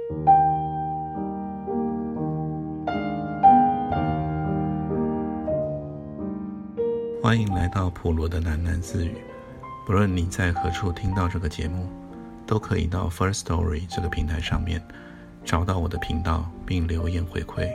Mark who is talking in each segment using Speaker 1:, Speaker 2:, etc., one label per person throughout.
Speaker 1: 欢迎来到普罗的喃喃自语。不论你在何处听到这个节目，都可以到 First Story 这个平台上面找到我的频道并留言回馈。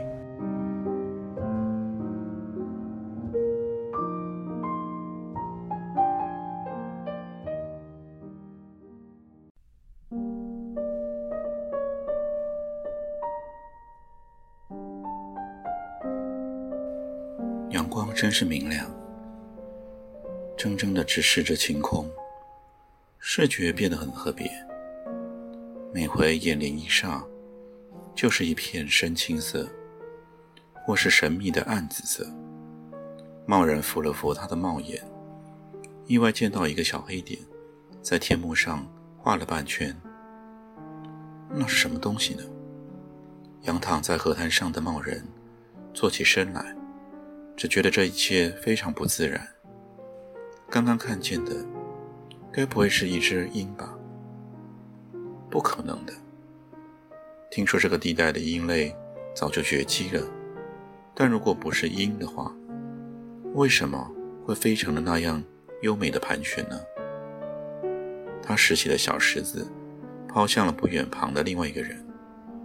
Speaker 1: 阳光真是明亮，怔怔地直视着晴空，视觉变得很特别。每回眼帘一煞，就是一片深青色，或是神秘的暗紫色。贸然扶了扶他的帽檐，意外见到一个小黑点在天幕上画了半圈。那是什么东西呢？仰躺在河滩上的贸然坐起身来，只觉得这一切非常不自然。刚刚看见的该不会是一只鹰吧？不可能的。听说这个地带的鹰类早就绝迹了，但如果不是鹰的话，为什么会飞成了那样优美的盘旋呢？他拾起了小石子，抛向了不远旁的另外一个人。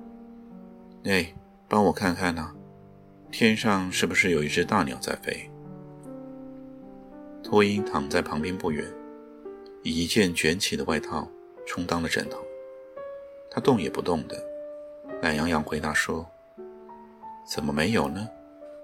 Speaker 1: 帮我看看啊，天上是不是有一只大鸟在飞？秃鹰躺在旁边不远，以一件卷起的外套充当了枕头。他动也不动的，懒洋洋回答说：怎么没有呢？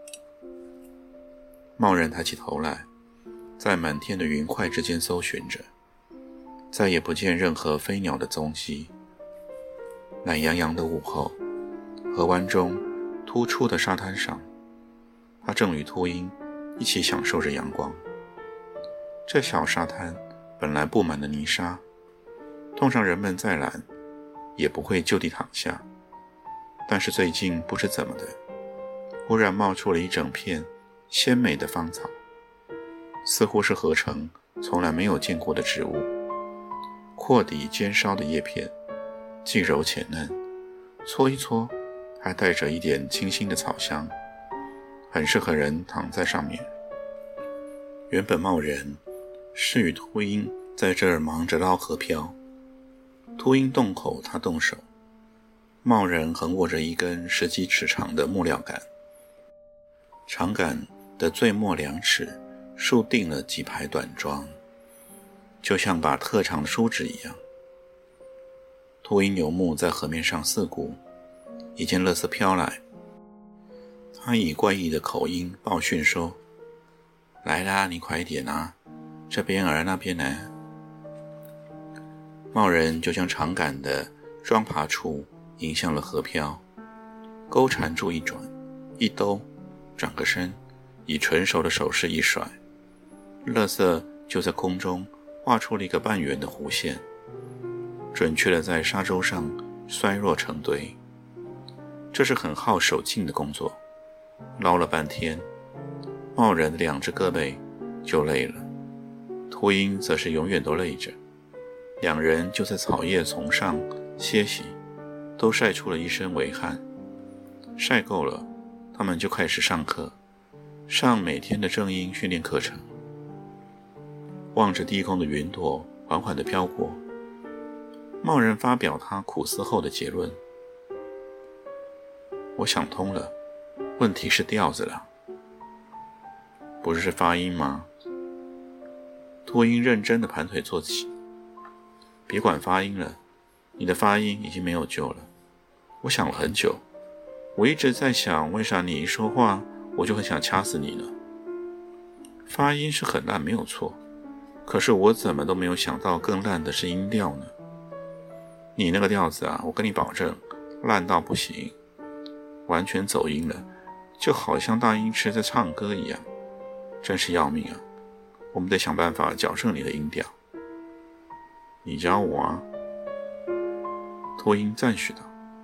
Speaker 1: 贸然抬起头来，在满天的云块之间搜寻着，再也不见任何飞鸟的踪迹。懒洋洋的午后，河湾中突出的沙滩上，他正与秃鹰一起享受着阳光。这小沙滩本来布满了泥沙，通常人们再懒也不会就地躺下，但是最近不知怎么的，忽然冒出了一整片鲜美的芳草，似乎是河城从来没有见过的植物。阔底尖烧的叶片既柔且嫩，搓一搓还带着一点清新的草香，很适合人躺在上面。原本贸然是与秃鹰在这儿忙着捞河漂，秃鹰动口他动手，贸然横握着一根10几尺长的木料杆，长杆的最末2尺竖定了几排短桩，就像把特长的梳子一样。秃鹰游牧在河面上四顾，一见垃圾飘来，他以怪异的口音报讯说：来啦，你快一点啊，这边儿那边呢。贸然就将长杆的桩爬处引向了河漂，钩缠住一转一兜，转个身，以纯熟的手势一甩，垃圾就在空中画出了一个半圆的弧线，准确地在沙洲上衰弱成堆。这是很耗手劲的工作，捞了半天，贸然的2只胳膊就累了，秃鹰则是永远都累着。2人就在草叶丛上歇息，都晒出了一身微汗。晒够了，他们就开始上课，上每天的正音训练课程。望着低空的云朵缓缓地飘过，贸然发表他苦思后的结论：我想通了，问题是调子了。不是发音吗？秃鹰认真地盘腿坐起。别管发音了，你的发音已经没有救了。我想了很久，我一直在想，为啥你一说话我就很想掐死你呢？发音是很烂没有错，可是我怎么都没有想到更烂的是音调呢？你那个调子啊，我跟你保证烂到不行，完全走音了，就好像大音痴在唱歌一样，真是要命啊！我们得想办法矫正你的音调。你教我啊？秃鹰赞许道。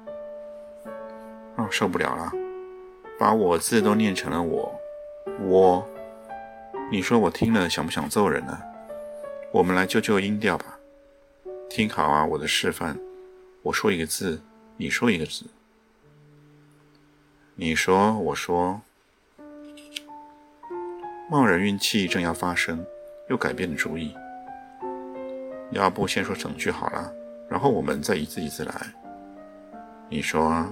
Speaker 1: 受不了了，把我字都念成了我，你说我听了想不想揍人呢？我们来救救音调吧。听好啊，我的示范，我说一个字， 你说一个字。你说，我说。贸然运气正要发生，又改变了主意。要不先说整句好了，然后我们再一字一字来。你说啊。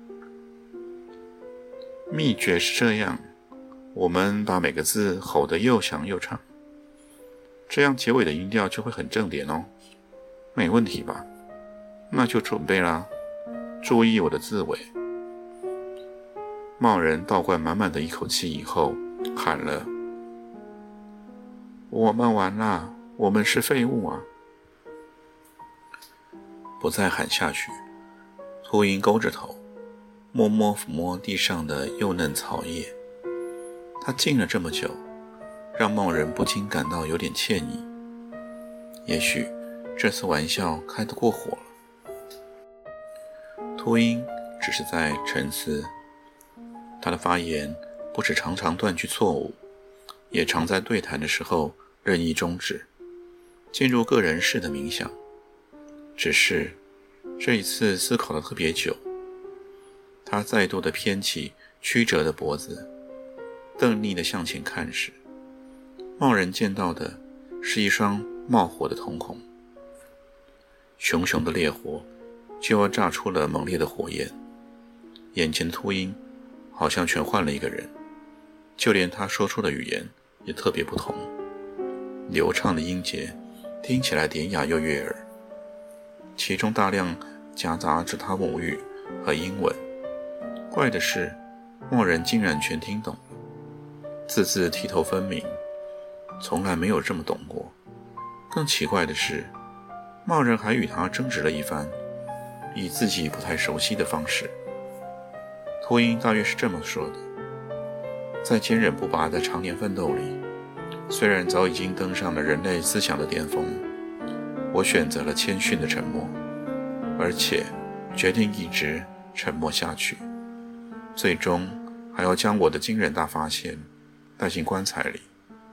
Speaker 1: 秘诀是这样，我们把每个字吼得又响又长，这样结尾的音调就会很正点哦。没问题吧？那就准备啦，注意我的字尾。贸然倒灌满满的一口气以后，喊了：我们完啦，我们是废物啊！不再喊下去，秃鹰勾着头，默默抚摸地上的幼嫩草叶。他静了这么久，让贸然不禁感到有点歉意。也许这次玩笑开得过火了。秃鹰只是在沉思，他的发言不止常常断句错误，也常在对谈的时候任意终止，进入个人式的冥想。只是这一次思考得特别久，他再度的偏起曲折的脖子，瞪睨地向前看时，贸然见到的是一双冒火的瞳孔，熊熊的烈火就要炸出了猛烈的火焰。眼前的秃鹰好像全换了一个人，就连他说出的语言也特别不同，流畅的音节听起来典雅又悦耳，其中大量夹杂着他母语和英文。怪的是，贸然竟然全听懂了，字字剔透分明，从来没有这么懂过。更奇怪的是，贸然还与他争执了一番，以自己不太熟悉的方式。秃鹰大约是这么说的：在坚韧不拔的常年奋斗里，虽然早已经登上了人类思想的巅峰，我选择了谦逊的沉默，而且决定一直沉默下去，最终还要将我的惊人大发现带进棺材里。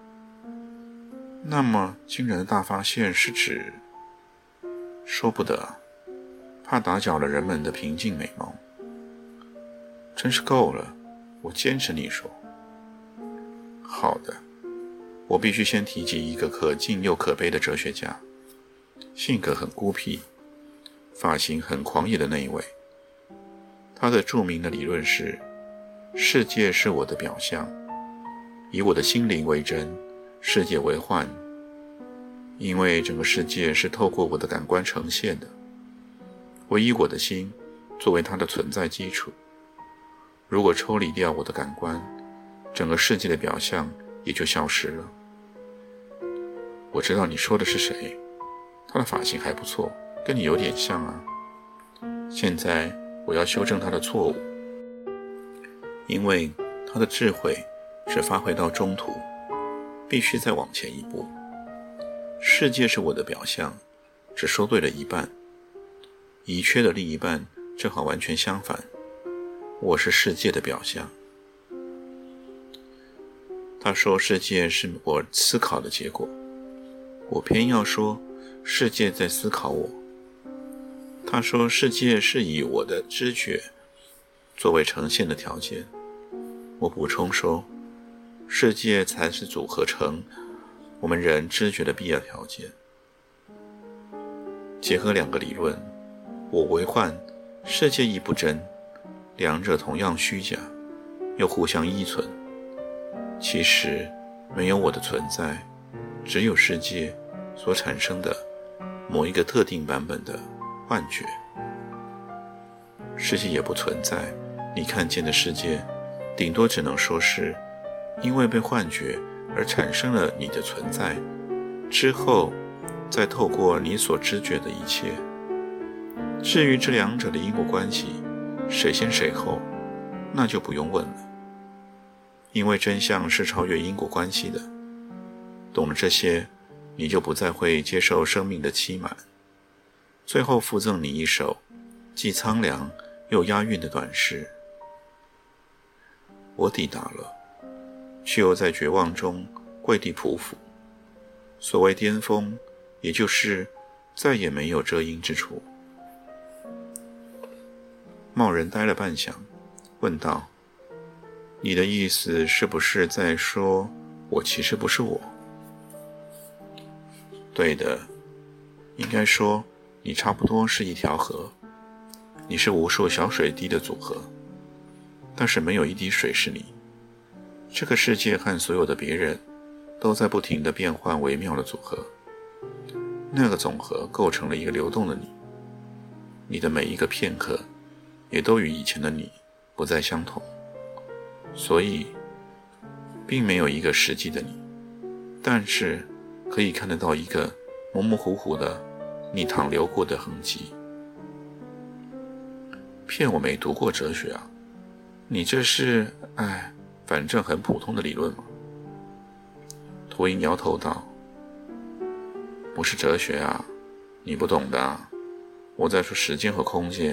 Speaker 1: 那么惊人的大发现是指……说不得，怕打搅了人们的平静美貌。真是够了，我坚持你说。好的，我必须先提及一个可敬又可悲的哲学家，性格很孤僻，发型很狂野的那一位。他的著名的理论是：世界是我的表象，以我的心灵为真，世界为幻。因为整个世界是透过我的感官呈现的，我以我的心作为它的存在基础。如果抽离掉我的感官，整个世界的表象也就消失了。我知道你说的是谁，他的发型还不错，跟你有点像啊。现在我要修正他的错误，因为他的智慧只发挥到中途，必须再往前一步。世界是我的表象，只说对了一半，遗缺的另一半正好完全相反，我是世界的表象。他说世界是我思考的结果，我偏要说世界在思考我。他说世界是以我的知觉作为呈现的条件，我补充说世界才是组合成我们人知觉的必要条件。结合两个理论，我为幻，世界亦不真，两者同样虚假，又互相依存。其实没有我的存在，只有世界所产生的某一个特定版本的幻觉。世界也不存在，你看见的世界顶多只能说是因为被幻觉而产生了你的存在，之后再透过你所知觉的一切。至于这两者的因果关系，谁先谁后，那就不用问了，因为真相是超越因果关系的。懂了这些，你就不再会接受生命的欺瞒。最后附赠你一首既苍凉又押韵的短诗。我抵达了，却又在绝望中跪地匍匐。所谓巅峰，也就是再也没有遮阴之处。 茂人呆了半晌，问道：你的意思是不是在说我其实不是我？对的，应该说你差不多是一条河，你是无数小水滴的组合，但是没有一滴水是你。这个世界和所有的别人都在不停地变换微妙的组合，那个总和构成了一个流动的你，你的每一个片刻也都与以前的你不再相同，所以并没有一个实际的你，但是可以看得到一个模模糊糊的你淌流过的痕迹。骗我没读过哲学啊，你这是反正很普通的理论嘛。秃鹰摇头道：不是哲学啊，你不懂的啊，我在说时间和空间。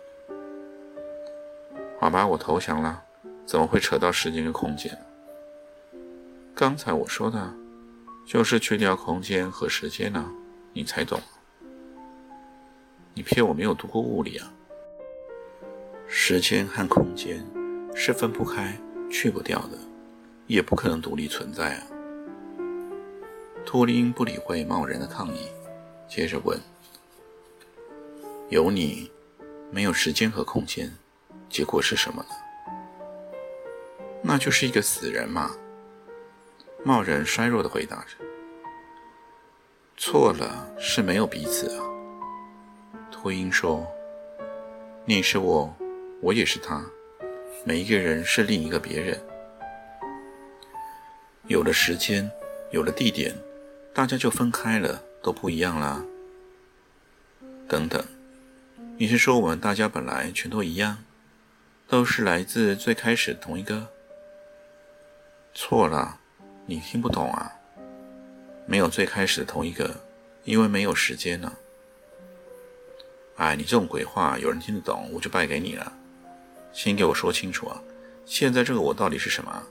Speaker 1: 好吧，我投降了，怎么会扯到时间跟空间？刚才我说的就是去掉空间和时间啊，你才懂。你骗我没有读过物理啊。时间和空间是分不开去不掉的，也不可能独立存在啊。秃鹰不理会茂人的抗议，接着问：有你没有时间和空间，结果是什么呢？那就是一个死人嘛。茂人衰弱地回答着。错了，是没有彼此啊。秃鹰说：你是我，我也是他，每一个人是另一个别人。有了时间，有了地点，大家就分开了，都不一样啦。等等，你是说我们大家本来全都一样，都是来自最开始同一个？错了，你听不懂啊。没有最开始的同一个，因为没有时间呢。你这种鬼话有人听得懂，我就败给你了。先给我说清楚啊，现在这个我到底是什么？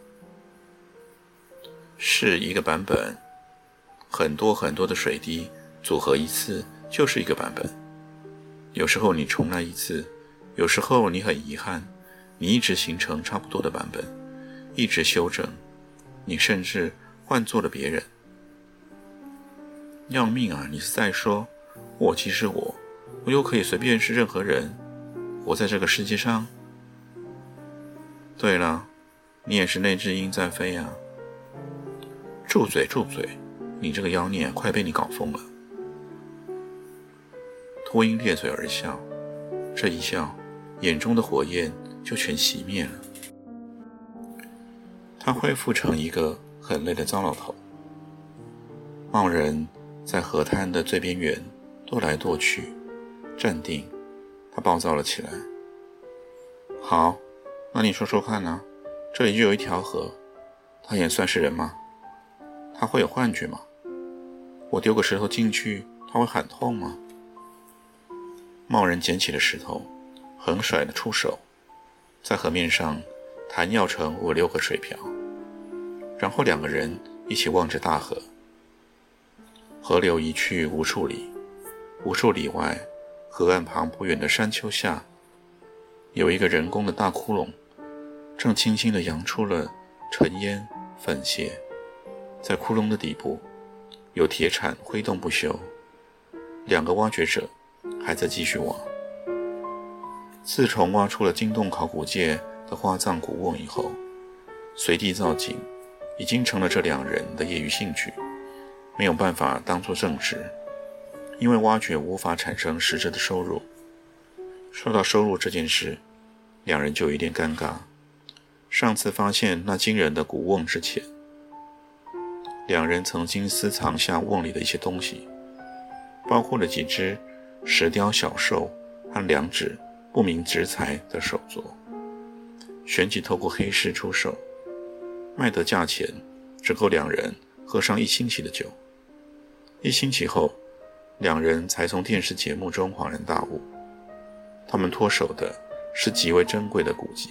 Speaker 1: 是一个版本，很多很多的水滴组合一次就是一个版本。有时候你重来一次，有时候你很遗憾，你一直形成差不多的版本，一直修正，你甚至换做了别人。要命啊，你是在说我其实我又可以随便是任何人，活在这个世界上？对了，你也是那只鹰在飞啊。住嘴住嘴，你这个妖孽快被你搞疯了。秃鹰咧嘴而笑，这一笑，眼中的火焰就全熄灭了。他恢复成一个很累的糟老头。茂人在河滩的最边缘跺来跺去，站定，他暴躁了起来。好，那你说说看啊，这里就有一条河，它也算是人吗？它会有幻觉吗？我丢个石头进去，它会喊痛吗？茂人捡起了石头，横甩了出手，在河面上弹跃成5-6个水瓢，然后两个人一起望着大河。河流移去无数里，无数里外，河岸旁不远的山丘下，有一个人工的大窟窿，正轻轻地扬出了尘烟粉屑。在窟窿的底部，有铁铲挥动不休，两个挖掘者还在继续挖。自从挖出了惊动考古界的花葬古瓮以后，随地造景已经成了这两人的业余兴趣，没有办法当作正职，因为挖掘无法产生实质的收入。说到收入这件事，两人就有点尴尬。上次发现那惊人的古瓮之前，两人曾经私藏下瓮里的一些东西，包括了几只石雕小兽和2只不明植材的手镯，旋即透过黑市出售，卖的价钱只够两人喝上1星期的酒。1星期后，两人才从电视节目中恍然大悟，他们脱手的是极为珍贵的古籍。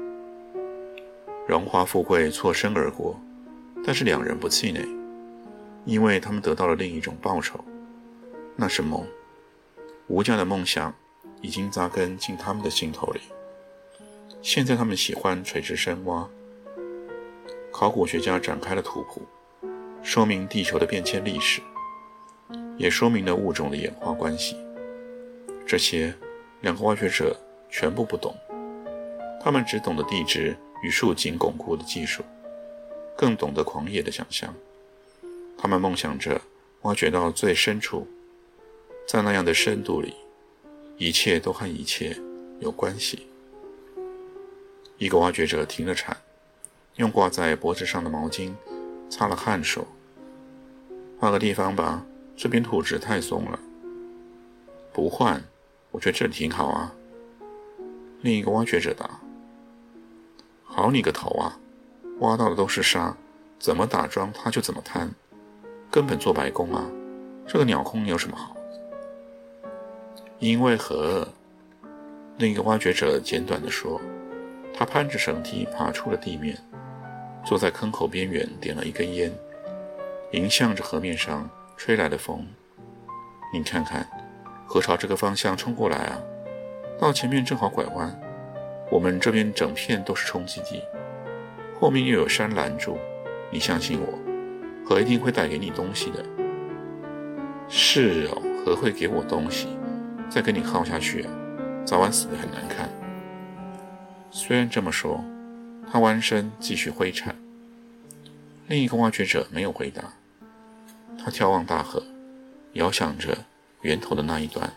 Speaker 1: 荣华富贵错身而过，但是两人不气馁，因为他们得到了另一种报酬，那是梦。无价的梦想已经扎根进他们的心头里。现在他们喜欢垂直深挖。考古学家展开了图谱，说明地球的变迁历史，也说明了物种的演化关系。这些两个挖掘者全部不懂，他们只懂得地质与竖井巩固的技术，更懂得狂野的想象。他们梦想着挖掘到最深处，在那样的深度里，一切都和一切有关系。一个挖掘者停了铲，用挂在脖子上的毛巾擦了汗说：“换个地方吧，这边土质太松了。”“不换，我觉得这里挺好啊。”另一个挖掘者答。“好你个头啊，挖到的都是沙，怎么打桩它就怎么坍，根本做白工啊，这个鸟空有什么好？”“因为何？”另一个挖掘者简短地说。他攀着绳梯爬出了地面，坐在坑口边缘点了一根烟，迎向着河面上吹来的风。“你看看，河朝这个方向冲过来啊，到前面正好拐弯，我们这边整片都是冲击地，后面又有山拦住，你相信我，河一定会带给你东西的。”“是哦，河会给我东西，再跟你耗下去啊，早晚死得很难看。”虽然这么说，他弯身继续挥铲。另一个挖掘者没有回答，他眺望大河，遥想着源头的那一端。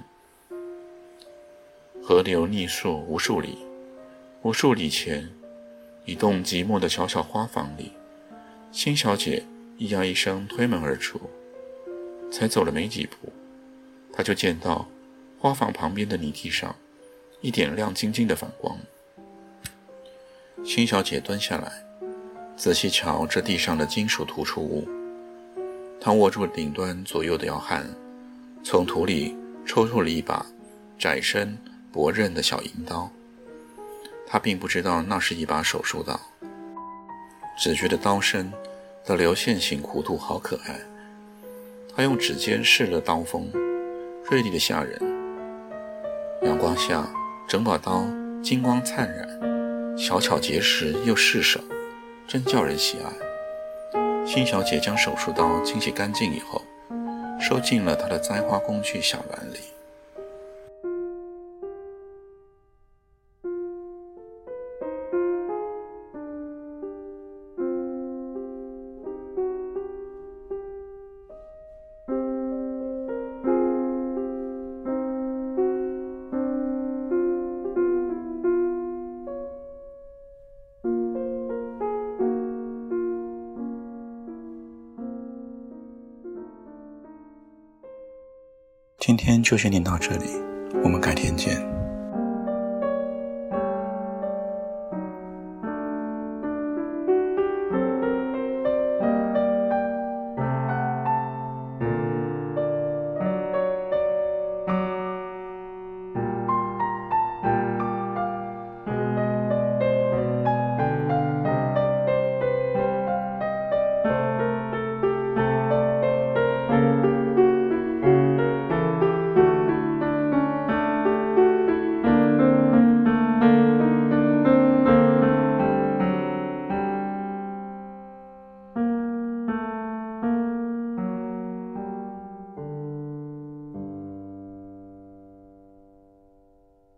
Speaker 1: 河流逆溯无数里，无数里前，一栋寂寞的小小花房里，辛小姐咿呀一声推门而出。才走了没几步，她就见到花房旁边的泥地上一点亮晶晶的反光。辛小姐蹲下来，仔细瞧这地上的金属突出物。她握住顶端左右的摇撼，从土里抽出了一把窄身薄刃的小银刀。她并不知道那是一把手术刀，只觉得刀身的流线型弧度好可爱。她用指尖试了刀锋，锐利的吓人。阳光下，整把刀金光灿然，小巧结实又适手，真叫人喜爱。辛小姐将手术刀清洗干净以后，收进了她的栽花工具小篮里。今天就先念到这里，我们改天见。